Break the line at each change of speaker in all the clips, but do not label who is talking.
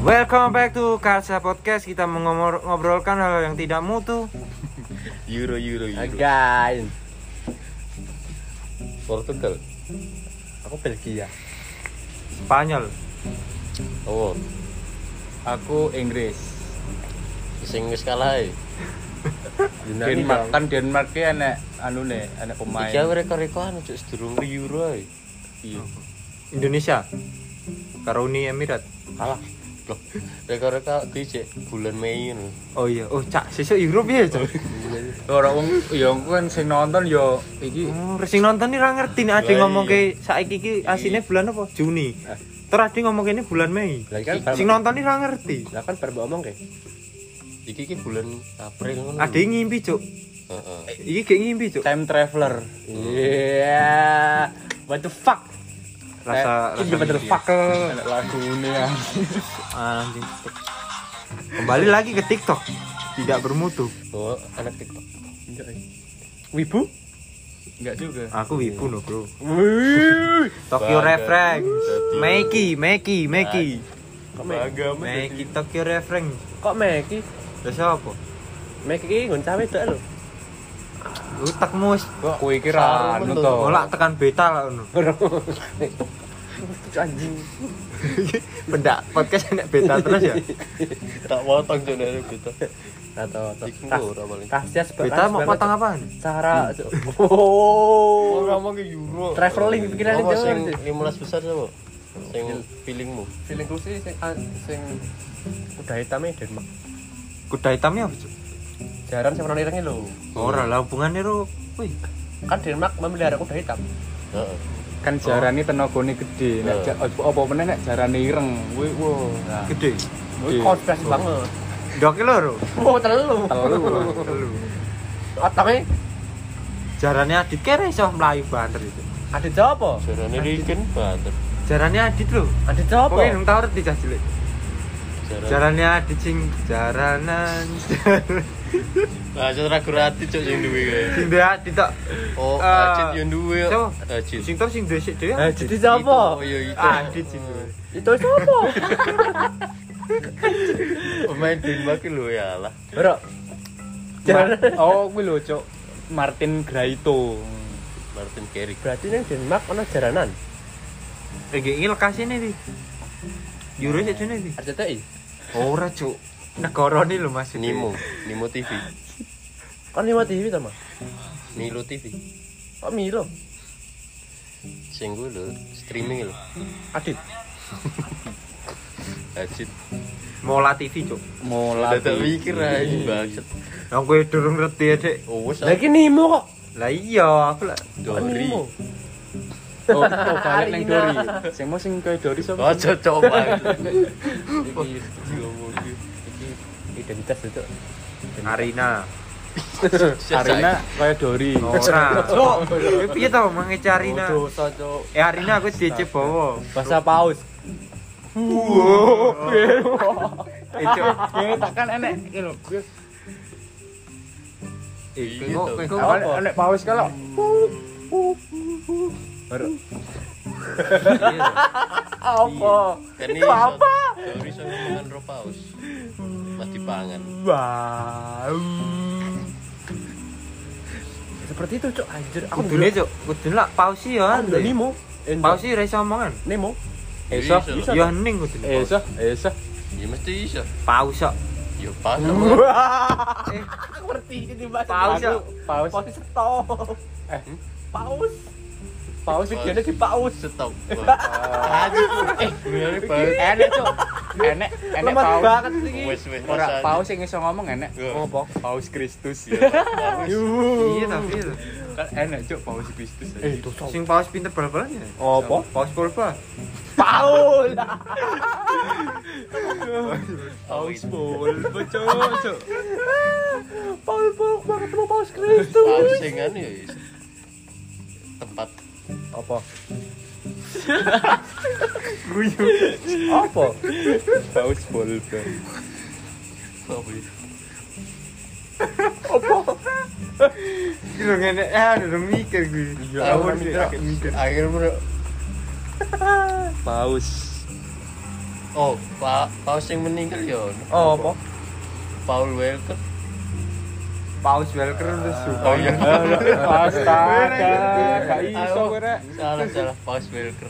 Welcome back to Kalsa Podcast. Kita mengobrolkan hal yang tidak mutu.
Euro.
Guys,
Portugal.
aku Belgia.
Spanyol.
Oh,
Aku Inggris.
sing wis kalah ae.
Denmark kan Denmark ki enek anune, enek pemain.
Iki rekor-rekoran cuk sedurung Euro ae.
Iya.
Indonesia. Karo Uni Emirat.
Kalah. Loh, rekor-rekor dicek bulan Mei ngono.
Oh iya, cak sesuk Europe ya, Cak.
Ora wong ya aku kan sing nonton ya iki
Sing nonton iki ora ngerti nek ade
Lah,
ngomong ke saiki iki asine bulan apa? Juni. Terus ade ngomong kene bulan Mei.
Lah kan
Sing nonton iki ora ngerti.
lah kan baru ngomong kayak.
Iki bulan April ngono.
Ade ngimpi, Cuk.
Heeh.
Iki gak ngimpi, Cuk.
time traveler.
Iya. What the fuck?
Rasa
What the fuck?
Enek lagune ya.
anjing. Kembali lagi ke TikTok. Tidak bermutu.
Oh, anak TikTok.
Wibu?
Enggak juga.
Aku wibu no, Bro.
Wih.
Tokyo
Bangga.
Reference. Meiki.
Kok Meki?
Meiki Tokyo Reference.
Kok Meki?
Terus apa?
Meki iki nggon cawe tok lho.
Utakmu wis
Kowe iki ra anu to.
golak tekan beta lah ngono.
Anjing.
Pendak podcast enek beta terus ya.
Tak potong cuk nek gitu.
Atau
Iku ora paling.
kasias
Beta mau potong apaan?
cara. Oh.
Ora mau ke Euro.
Traveling pikiran
Apa
Jawa.
sing 15 besar sapa? Sing feelingmu.
Feelingku sih sing udah hitamnya Denmark.
Kuda hitamnya apa, Cuk?
Jaran sing warna irenge lho.
Ora lah hubungannya ro. Wih,
Kan Denmark memelihara kuda hitam.
Heeh.
Kan jarane tenagane gede. Nek apa meneh nek jarane ireng. Kuwi nah.
gede.
Wih, konspirasi banget.
Ndok lho.
Oh, telu.
Telu.
Otaknya
Jarane Adit kere iso mlayu banter itu.
ada jawab apa?
Jarane Riken banter.
Jarane Adit lho.
Ada jawab
Kowe
apa?
nang tau ngerti cah cilik. Jarane Adit sing jaranan.
Lah aja ragu ati cuk sing duwe kae.
Sing dia Adit tok.
Oh,
Eh,
Acit yo duwe.
coba.
Acit.
Sing terus sing dhisik dhewe.
Jadi jawab apa?
Oh iya itu.
Adit sing duwe.
Itu siapa?
Pemain Denmark lho ya lah.
Bro. Jaran.
Oh, kuwi lho, Cuk. Martin Graito.
Martin Garrix.
Berarti nang Denmark ana jaranan.
Iki lokasine iki. Euro sik jane iki.
RCTI.
Ora, Cuk. Negarane lho Mas.
Nimo TV.
Kan lewat TV ta, Mas?
Milo TV.
Kok Milo?
Sing kuwi lho, streaming lho.
Adit.
Acit.
Mola TV, Cuk.
Mola.
Tak mikir aja banget.
Lah kowe durung ngerti ya, Dik.
Oh, wes.
Lah iki Nemo kok.
Lah iya, aku lah
Dori.
Nemo.
Oh, balik nang Dori. Sing mau sing kaya Dori sapa?
Oh, cocok banget.
Iki identitas itu.
Arina.
Arina kaya Dori.
Ora. Cuk, piye to mangece Arina?
Oh, dosa, Cuk.
Arina aku DC bawa.
Bahasa paus.
Cuk.
Ya takkan enek iki lho.
Iya,
Kok
toh.
kok
Apa enek paus kalau
Baru.
iya.
Apa?
Kan
Itu apa?
Dori iso mangan ro paus. Mas dipangan.
Wow. Seperti itu, Cuk. Anjir, aku
Kudune, Cuk. Kudune lak pausi ya.
Aku Nemo.
Pausi ra iso omongan.
Nemo.
Iso.
Iso.
Ya hening kudune.
Iso.
Ya mesti iso.
Paus kok.
Ya pas.
Aku ngerti ini bahasa.
Paus ya.
Paus.
Paus stop. Paus. Paus videonya di paus.
Stop. Bener banget.
Enek, Cuk. Enek
Lemas
paus.
banget iki.
Wes.
Ora paus sing iso ngomong enek.
Apa?
Paus Kristus.
Iya tapi itu.
Kan enek, Cuk, paus Kristus.
Itu
Sing paus pinter bal-balan ya.
apa?
Paus pulpa.
Paul.
Paus pol, Cuk.
Paul banget sama Paus Kristus.
Paus sing anu ya. Tempat
Apa?
Guyu.
Apa?
Paus pol.
apa ya?
Kira ngene durung mikir gue.
Iya,
Aku mikir.
Akhirnya
Paus.
Oh, paus yang meninggal ya.
Oh, apa?
Paul Walker.
Paus Welker lesu.
Oh iya.
Astaga, gak iso kowe rek.
Salah Paus Walker.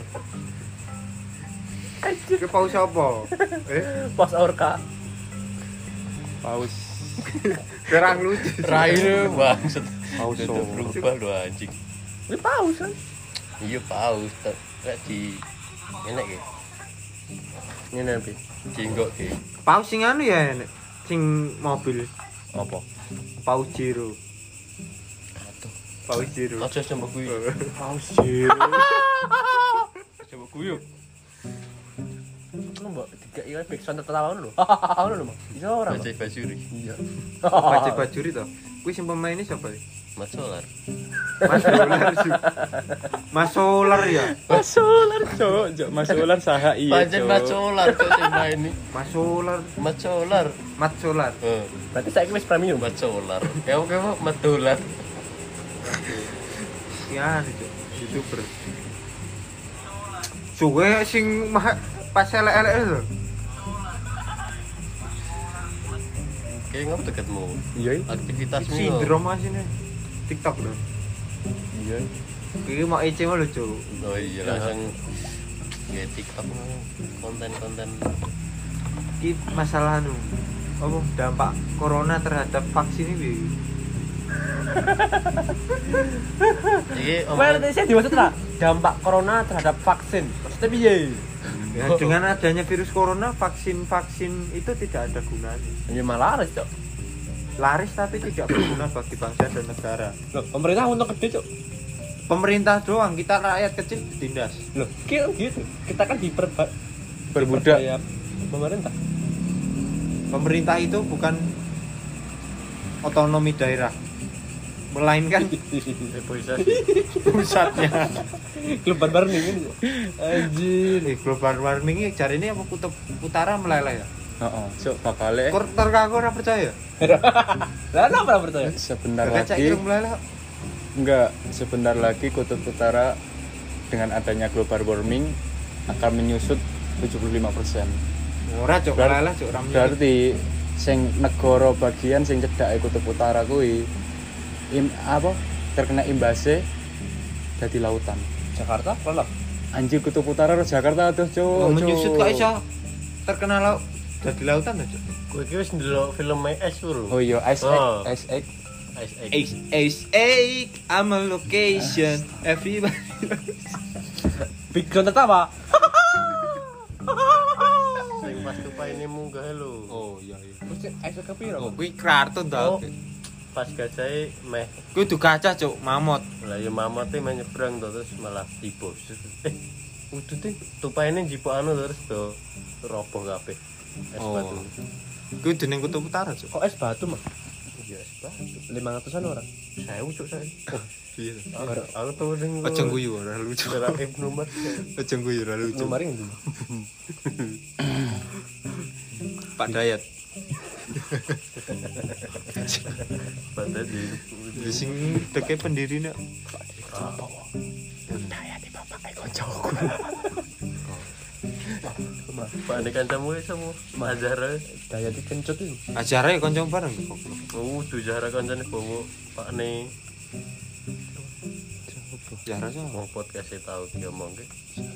Ke paus apa?
Pas orka.
Paus.
Kurang lucu.
Raine bangset.
Paus.
Udah berubah lo anjing.
Ini paus kan?
Iya paus, tak di enak ya. Ini nanti jinggok ya.
Paus sing anu ya nek sing mobil
Apa?
Paus Jiro.
Aduh,
Paus Jiro.
aja coba kuyu.
Paus Jiro.
Coba kuyu.
Lu mbok dikai backsound tertawa ngono lho. Ngono lho, Mas. Iso ora?
Baca Bajuri.
Iya.
Baca Bajuri to. Kuwi sing pemainnya siapa ya?
Mas Solar.
Mas Solar sih. Mas Solar ya.
Mas Solar, Cok. Mas Solar saha iya.
Pancen Mas Solar kok sing main ini.
Mas Solar,
Mas Solar.
Mat Solar.
Berarti saiki wis premium.
Mas Solar. Kayak Mas Dolar.
Ya, itu YouTuber. Suwe sing pas elek-elek lho.
Kayak ngapa deketmu?
Iya.
Aktivitasmu.
Sindrom asine. TikTok lho.
Iya.
Iki mau EC mah lho, Cuk.
Oh iya langsung ya TikTok konten-konten.
Iki masalah anu. Apa dampak corona terhadap vaksin ini?
Iki
Well, saya dimaksud lah dampak corona terhadap vaksin. Maksudnya piye?
Ya, dengan adanya virus corona, vaksin-vaksin itu tidak ada gunanya.
Ya malah laris, Cok.
Laris tapi tidak berguna bagi bangsa dan negara.
Loh, pemerintah untung gede, Cok.
Pemerintah doang, kita rakyat kecil ditindas.
Loh, gitu. Kita kan
Berbudak.
ya pemerintah.
Pemerintah itu bukan otonomi daerah, melainkan
depoisasi.
pusatnya.
Global warming ini. Anjir.
Global warming ini cari ini apa kutub utara meleleh ya?
Heeh, Cok bakale
Terkaku ora percaya.
Lah kenapa percaya?
sebentar
Kaca
lagi.
irung meleleh.
Enggak, sebentar lagi kutub utara dengan adanya global warming akan menyusut 75%.
Ora cok meleleh cok ora.
Berarti sing negara bagian sing cedhake kutub utara kuwi terkena imbase dadi lautan.
Jakarta lelap.
Anjir kutub utara karo Jakarta tuh, Cuk.
Menyusut kok iso terkenal laut dadi lautan aja.
Kowe iki wis ndelok film My Ice Bro.
Oh iya, Ice
Oh.
Ice Egg.
Ice Egg.
I'm a location. Everybody.
Big John apa?
Sing pas tupai ini munggah lho.
Oh iya iya.
Terus Ice Egg piro?
Oh, kuwi kartun
Oh.
ta.
Pas gajahe meh
Kuwi du kaca cok, mamot.
lah ya mamate meh nyebrang to terus malah tiba. Udute tupaine njipuk anu terus do roboh kabeh. Es
Oh.
batu.
Kuwi dening kutub utara cok.
Kok es batu, Mas?
Iya es batu.
500-an orang.
1000 cuk saya.
Iya.
Aku tuh ning
Aja guyu ora lucu.
Dalam Ibnu Umar.
Aja guyu ora lucu.
Numaring ndi?
Pak Dayat.
Pada
Di sing deke pendirine.
Pak nek kancamu sama Azhar.
Daya dikencut itu.
Ajare kanca bareng.
Oh, tuh Zahra kancane bawa Pak ne.
Ya rasa.
Mau podcast e tau diomongke.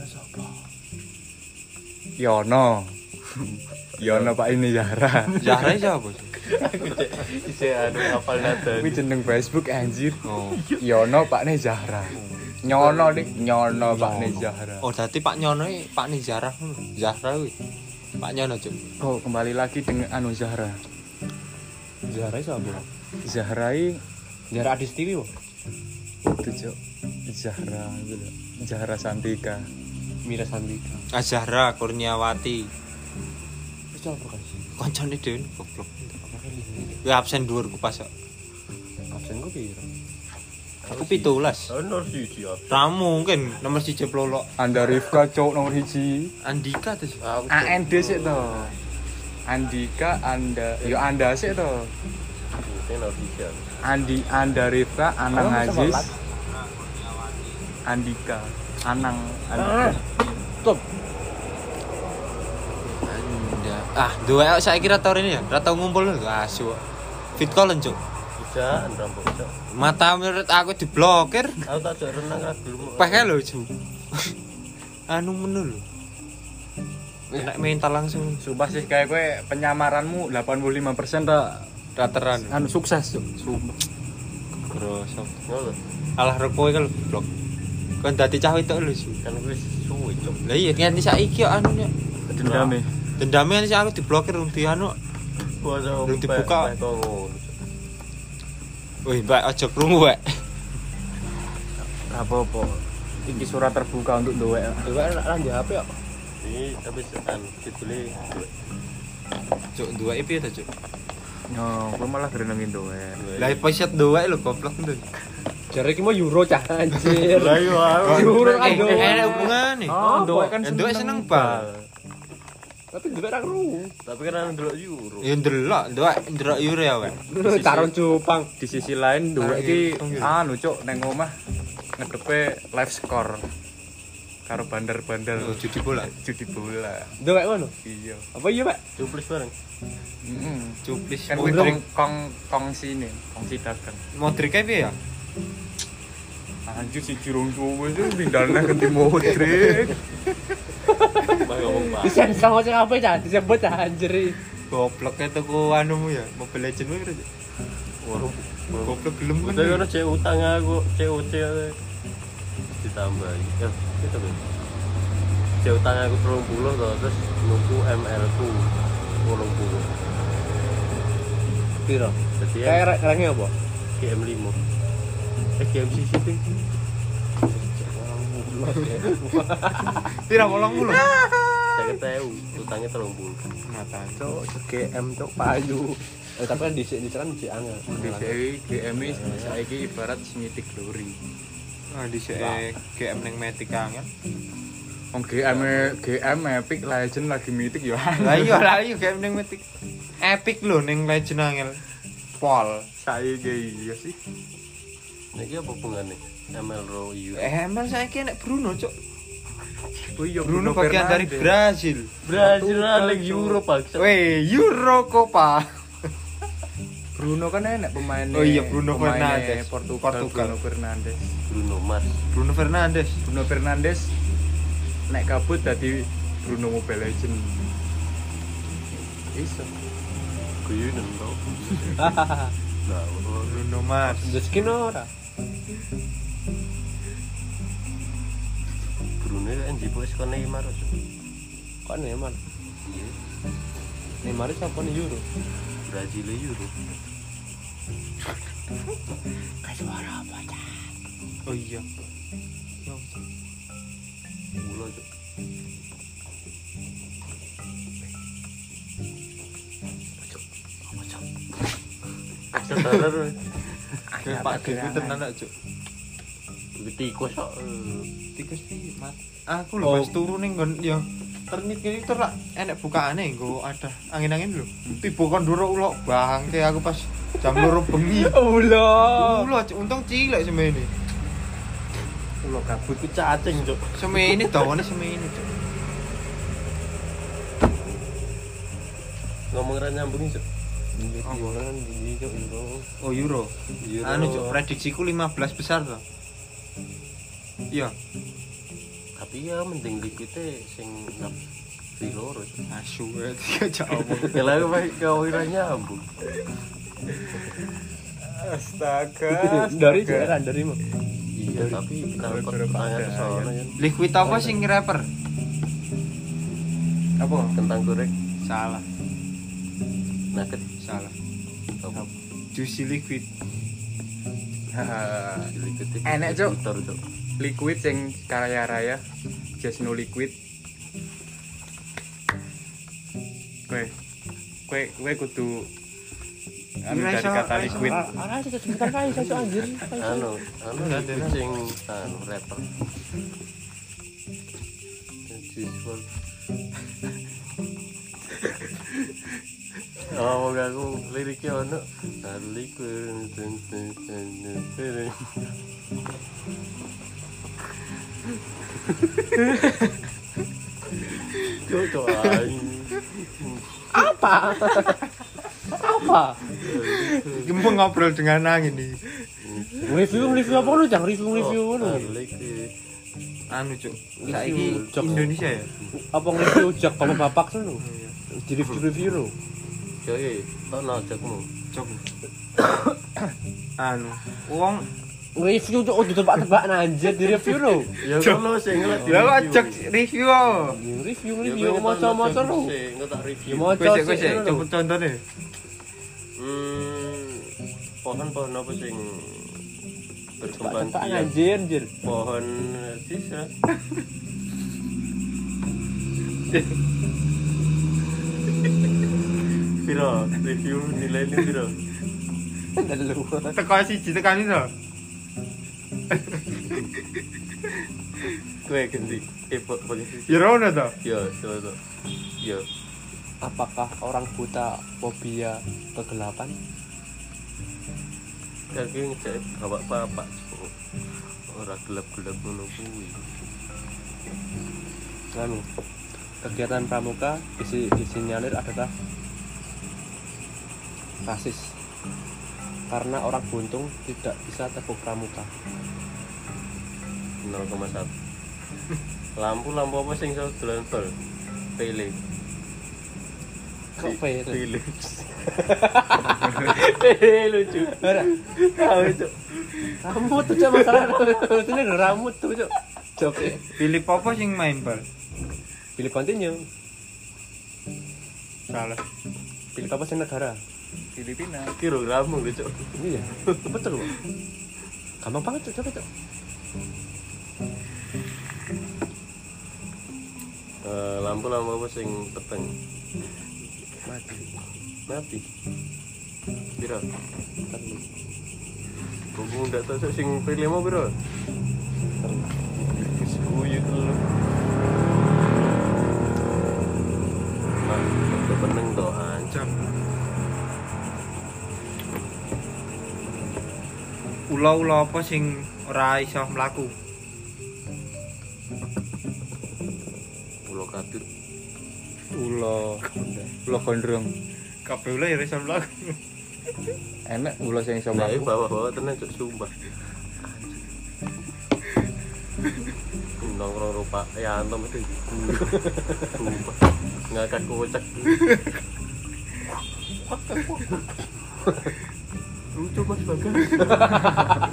Yono. Yono Pak ini Zahra.
Zahra siapa?
Aku cek isih anu hafal nada.
Kuwi jeneng Facebook anjir.
Oh.
Yono Pak ne Zahra. Nyono dik, Nyono Pak ne Zahra.
Oh, dadi Pak Nyono iki Pak Ni Zahra. Zahra kuwi. Pak Nyono, Cuk.
Oh, kembali lagi dengan anu Zahra.
Zahra sapa?
Zahra iki
Zahra Adistiwi kok.
itu, Cuk. Zahra gitu. Zahra Santika.
Mira Sandika.
Zahra Kurniawati.
Wis apa kan sih?
Kancane dhewe goblok. Kuwi absen dhuwur ku pas.
Absen kok piro?
Aku 17.
Ono siji ya.
Ra mungkin nomor 1 plolok.
Anda Rifka Cuk nomor 1.
Andika tuh.
AND sik to. Andika Anda, yo Anda sik to.
Ini official.
Anda Rifka Anang
Kamu bisa
Aziz.
sholat?
Andika Anang
Stop.
Dua saya kira tahun ini ya, rata ngumpul lho asu. Fit callen, Cuk.
Bisa rambut cok.
Mata menurut aku diblokir.
Aku tak jek renang ra gelem.
Peke lho, Cuk. Anu menu lho. Kena mental langsung.
Sumpah sih kayak kowe penyamaranmu 85%
Dateran.
anu sukses, Cuk. Sumpah.
Grosok.
Ngono.
Alah rekoe kan blok. Kan dadi cah wedok lho, Cuk.
Kan wis suwe cok.
Lah iya nganti saiki kok anunya.
Dendame.
Dendamnya nanti aku diblokir di anu.
Boso
Belum dibuka.
ngono.
Wih, Mbak aja krungu, Mbak.
Apa-apa. Iki surat terbuka untuk duwe.
Dewe lah di HP kok.
Iki tapi kan dibeli.
Cuk, dua IP ta, Cuk.
Yo, kowe malah gerenengin duwe.
Lah poset dua lho goblok nduk.
Jare iki mau euro cah anjir.
Lah yo aku.
Euro kan do.
Ada hubungane.
Oh, duwe kan
Duwe seneng bal.
Tapi dewe ra kru.
Tapi kan ndelok euro.
Ya ndelok euro ya, Wek.
Taron cupang.
Di sisi lain duwe iki anu, Cuk, neng omah ngedepe live score karo bandar-bandar
Judi bola.
judi bola.
Dewe ngono.
Iya.
Apa iya, Pak?
Cuplis bareng.
Cuplis.
Kan kuwi kongsi ini, kongsi dagang.
Modric kae piye ya?
Anjir si Jirung suwe itu pindahnya ganti Modric.
Mbak ngomong Pak.
Disen sama sing apa cah disebut cah anjir.
Goblok e tuku anumu ya, Mobile Legends kuwi.
Waduh.
Goblok gelem kan.
Udah ngono cek utang aku, COC ditambah. Ya, itu kan. Cek utang aku 30 to, terus nuku ML ku 80.
Piro?
Jadi ya
Kayak range apa?
GM5. GM CC ting.
Pira 80?
Saya tahu utangnya 30.
Mata.
Cok, GM cok payu. Tapi kan dhisik kan dhisik angel.
Di GM saiki ibarat Mythic Glory.
Ah di GM ning Matic kangen.
Wong GM Epic Legend lagi Mythic ya.
Lah iya GM ning Matic. Epic lho ning Legend angel. Pol.
Saiki iya sih.
Niki apa hubungannya? ML Ro Euro.
Emang saiki nek Bruno, Cuk.
Oh iya
Bruno bagian dari Brasil.
Brazil lagi Euro Pak.
Weh, Euro Copa.
Bruno kan enak pemainnya.
Oh iya, Bruno
pemainnya
Fernandes.
Portugal.
Portugal.
Bruno Mars.
Bruno Fernandes.
Bruno Fernandes nek kabut dadi Bruno Mobile Legend. Iso.
Kuyunan tau. Nah,
Bruno Mars.
Udah skin ora?
Bruno kan jipo wis kon Neymar.
Kok Neymar?
Iya,
Neymar siapa nih Euro?
Brazil Euro.
Oh iya.
Ulo cok. Sadar.
Pak Dewi tenan nak, Cuk.
Tikus kok.
Tikus piye, Mat? Aku lho pas turu ning nggon ya ternit kene tur lak enek bukaane nggo ada angin-angin lho. Tiba kon ndoro ulo bangke aku pas jam 2 bengi.
Ulo.
Ulo untung cilik semene.
Ulo kabut ku cacing cok.
Semene dawane semene, Cuk.
Ngomong ra nyambung cok.
Orang di Euro.
Oh Euro. Anu Cuk, prediksiku 15 besar to. Iya,
Tapi ya mending liquidnya sing nap filoro.
asu ya jauh.
Kalau kau ira nyambung.
Astaga.
Dari daerah dari mah.
Iya, tapi kalau kau tanya ke sono kan
Liquid apa sing rapper?
Apa?
kentang goreng
Salah,
nugget
salah.
apa?
Juicy liquid.
Liquid
Enek, Cok.
Cok.
Liquid sing kaya raya just no liquid. Kowe kudu anu dari kata liquid.
Ara itu sebentar kali saya anjir.
Anu liquid sing anu rapper. Juice. Oh, aku liriknya ono liquid. Cocok aing.
Apa? Apa?
Iki mau ngobrol dengan angin nih.
Review apa lu? Jangan review lu.
Anu cuk, saiki
Jok.
Indonesia ya.
Apa nge-review jak bapak lu? Di review lu.
Jadi, tak najakmu.
Cuk. Anu, wong
Review cok ditebak-tebak anjir di review lu.
Ya ngono sing ngelet di
lha kok
review.
cek review oh.
Review maca-maca lu.
Ngetak review.
Maca
Wis coba contohnya.
Pohon apa sing berkembang
Tebak
biak?
anjir.
Pohon sisa. Piro review nilainya piro?
Lu.
Teko siji tekan itu.
Kowe ganti pakai sisi.
Ya rono to.
Ya, coba. Ya.
Apakah orang buta fobia kegelapan?
Kaki ngecek bapak-bapak. Ora gelap-gelap ngono kuwi.
Anu, kegiatan pramuka disinyalir adalah rasis karena orang buntung tidak bisa tepuk pramuka.
0,1. Lampu apa sing iso dolan bal? Pele.
Kok pele?
Pele lucu. Tahu itu.
Rambut tuh cok masalah ini rambut tuh cok. Cok.
Pilih apa sing main bal?
Pilih continue.
Salah.
Pilih apa sih negara?
Filipina.
Kilogrammu lucu.
Iya, betul. Gampang banget cok, coba cok.
Lampu apa sing peteng? Mati. Piro? Buku ndak tahu sing pilih mau piro? Sekuyu telu. Nah, peneng to ancam.
Ula-ula apa sing ora iso mlaku?
Pulau Kadut.
Ulo gondrong.
Kabeh ula ya ora iso mlaku.
Enak ulo sing iso
Nah,
mlaku.
bawa-bawa tenan cuk sumpah. Nongkrong rupa ya antum itu. Sumpah. Ngakak kocak. Lucu Mas Bagas.